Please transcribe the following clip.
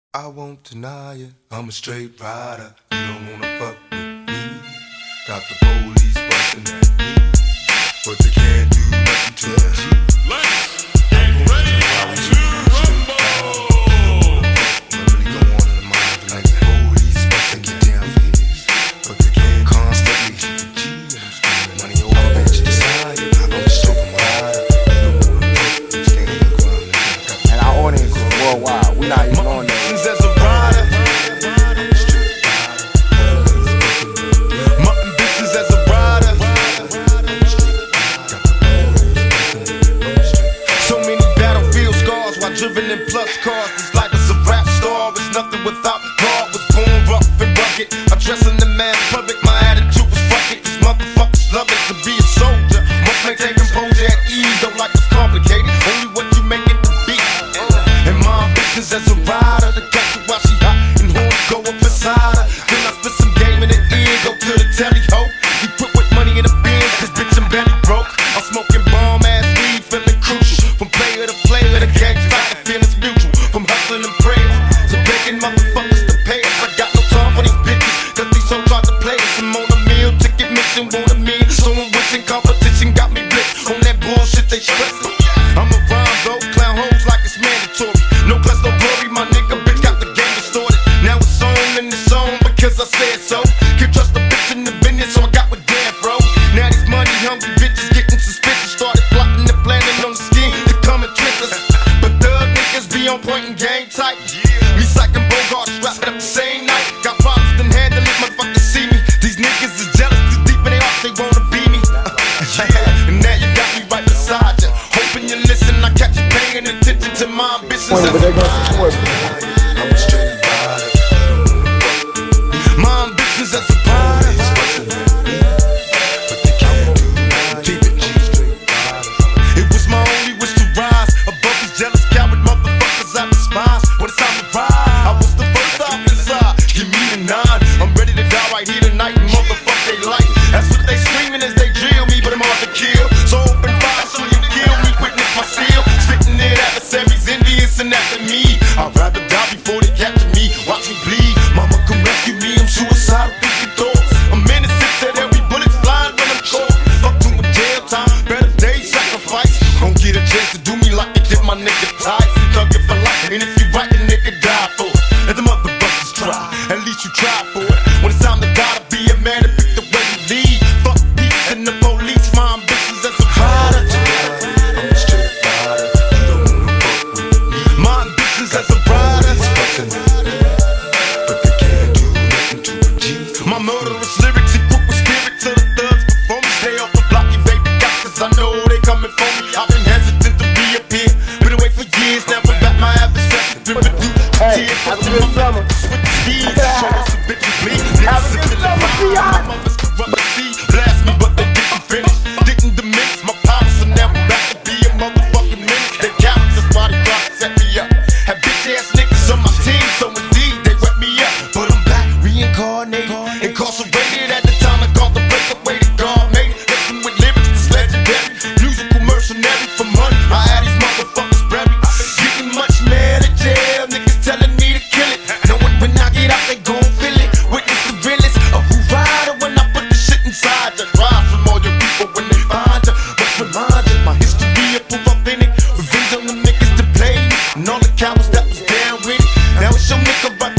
I won't deny it, I'm a straight rider. You don't wanna fuck with me. Got the police bustin' at me, but they can't do nothing to me. Let's get ready to rumble. What really go on in the mind like the police bustin' get down for his, but they can't constantly hit the G. I'm screaming money over bitch desire. I'm a straight rider. You don't wanna fuck with me, stand your ground. And our audience is worldwide. We not even on there. As a rider, mutton bitches as a rider. So many battlefield scars while driven in plus cars. This life is a rap star, it's nothing without God. Was born rough and rugged, addressing the man public. My attitude was fuck it. These motherfuckers love it to be a soldier. Most maintain composure at ease, don't like it's complicated. Only what you make it to be. And my business as a rider, the catch her while she hot and horns go up inside her. Then I spit some game in the ear, go to the telly ho. You quit with money in the bins, cause bitch I'm belly broke. I'm smoking bomb ass weed, feeling crucial. From player to player, the game's like the feeling's mutual. From hustling and prayers to begging motherfuckers to pay us. I got no time for these bitches, cause these hoes try to play us. I'm on a meal, ticket mission, want a meal. So I'm wishing competition got me blitzed on that bullshit they stressing. I'm a rhyme though, clown hoes like it's mandatory. No plus no glory, my nigga bitch got the game distorted. Now it's on and it's on because I said so. Can't trust a bitch in the business, so I got with Dan, bro. Now these money hungry bitches getting suspicious. Started plotting and planning on the scheme to come and trick us. But thug niggas be on point and game tight. Recycling Bogart, wrapped up the same night. Got problems, then handle it, motherfuckers see me. These niggas is jealous, too deep in their hearts, they wanna be me. And now you got me right beside you. Hoping you listen, I catch you paying attention to my ambitions. But they're gonna support me. I'm a straight rider. My ambitions as a rider. But they can't do nothing. Keep it straight rider. It was my only wish to rise above these jealous coward motherfuckers I despise. When it's time to ride, I was the first off inside. Give me the 9. I'm ready to die right here tonight. Motherfuck they like. That's what they screaming as they drill me, but I'm hard to kill. So open fire, so you kill me. Witness my seal. Spitting it adversaries, envious and after me. I'd rather die before they capture me. Watch me bleed. Mama come rescue me. I'm suicidal, thinking thoughts. I'm innocent, said every bullet's flying when I'm caught. Fuck to my jail time. Better days sacrifice. Don't get a chance to do me like they did my nigga Ty. Thug it for life. And if you right, the nigga die for it. And the motherfuckers try. At least you try for it. When it's time to die, to be a man to pick the way you lead. Fuck peace and the police. My ambitions as a rider. I'm a straight rider. You don't wanna fuck with me. My ambitions as a rider. But they can't do nothing to a G. My murderous lyrics equip with spirit to the thugs before me. Stay off the block, you baby got, cause I know they coming for me. I've been hesitant to reappear. Been away for years, now I'm back, my adversary. Been reduced to tears. Have a good summer. With the speed, show us a bitch bleed. Have a good summer, My mother's corrupt the sea. Blast me, but they didn't finish. Didn't diminish my power, so now I'm back to be a motherfucking menace. They cowards, that's why they try to set me up. Have bitch ass niggas on my team, so indeed they wet me up. But I'm back, reincarnated, incarcerated at the time I called the breakaway to God made it. Listen with lyrics that's legendary, musical mercenary for money. I had these motherfuckers buried. Getting much mad at jail, niggas telling me to kill it. Knowing when I get out, they gon' feel it. Witness the realest of who rider when I put the shit inside you. Rise from all your people when they find you. Must remind you, my history will prove authentic. Revenge on the niggas to play me, and all the cowards that was down with it. Now it's your nigga right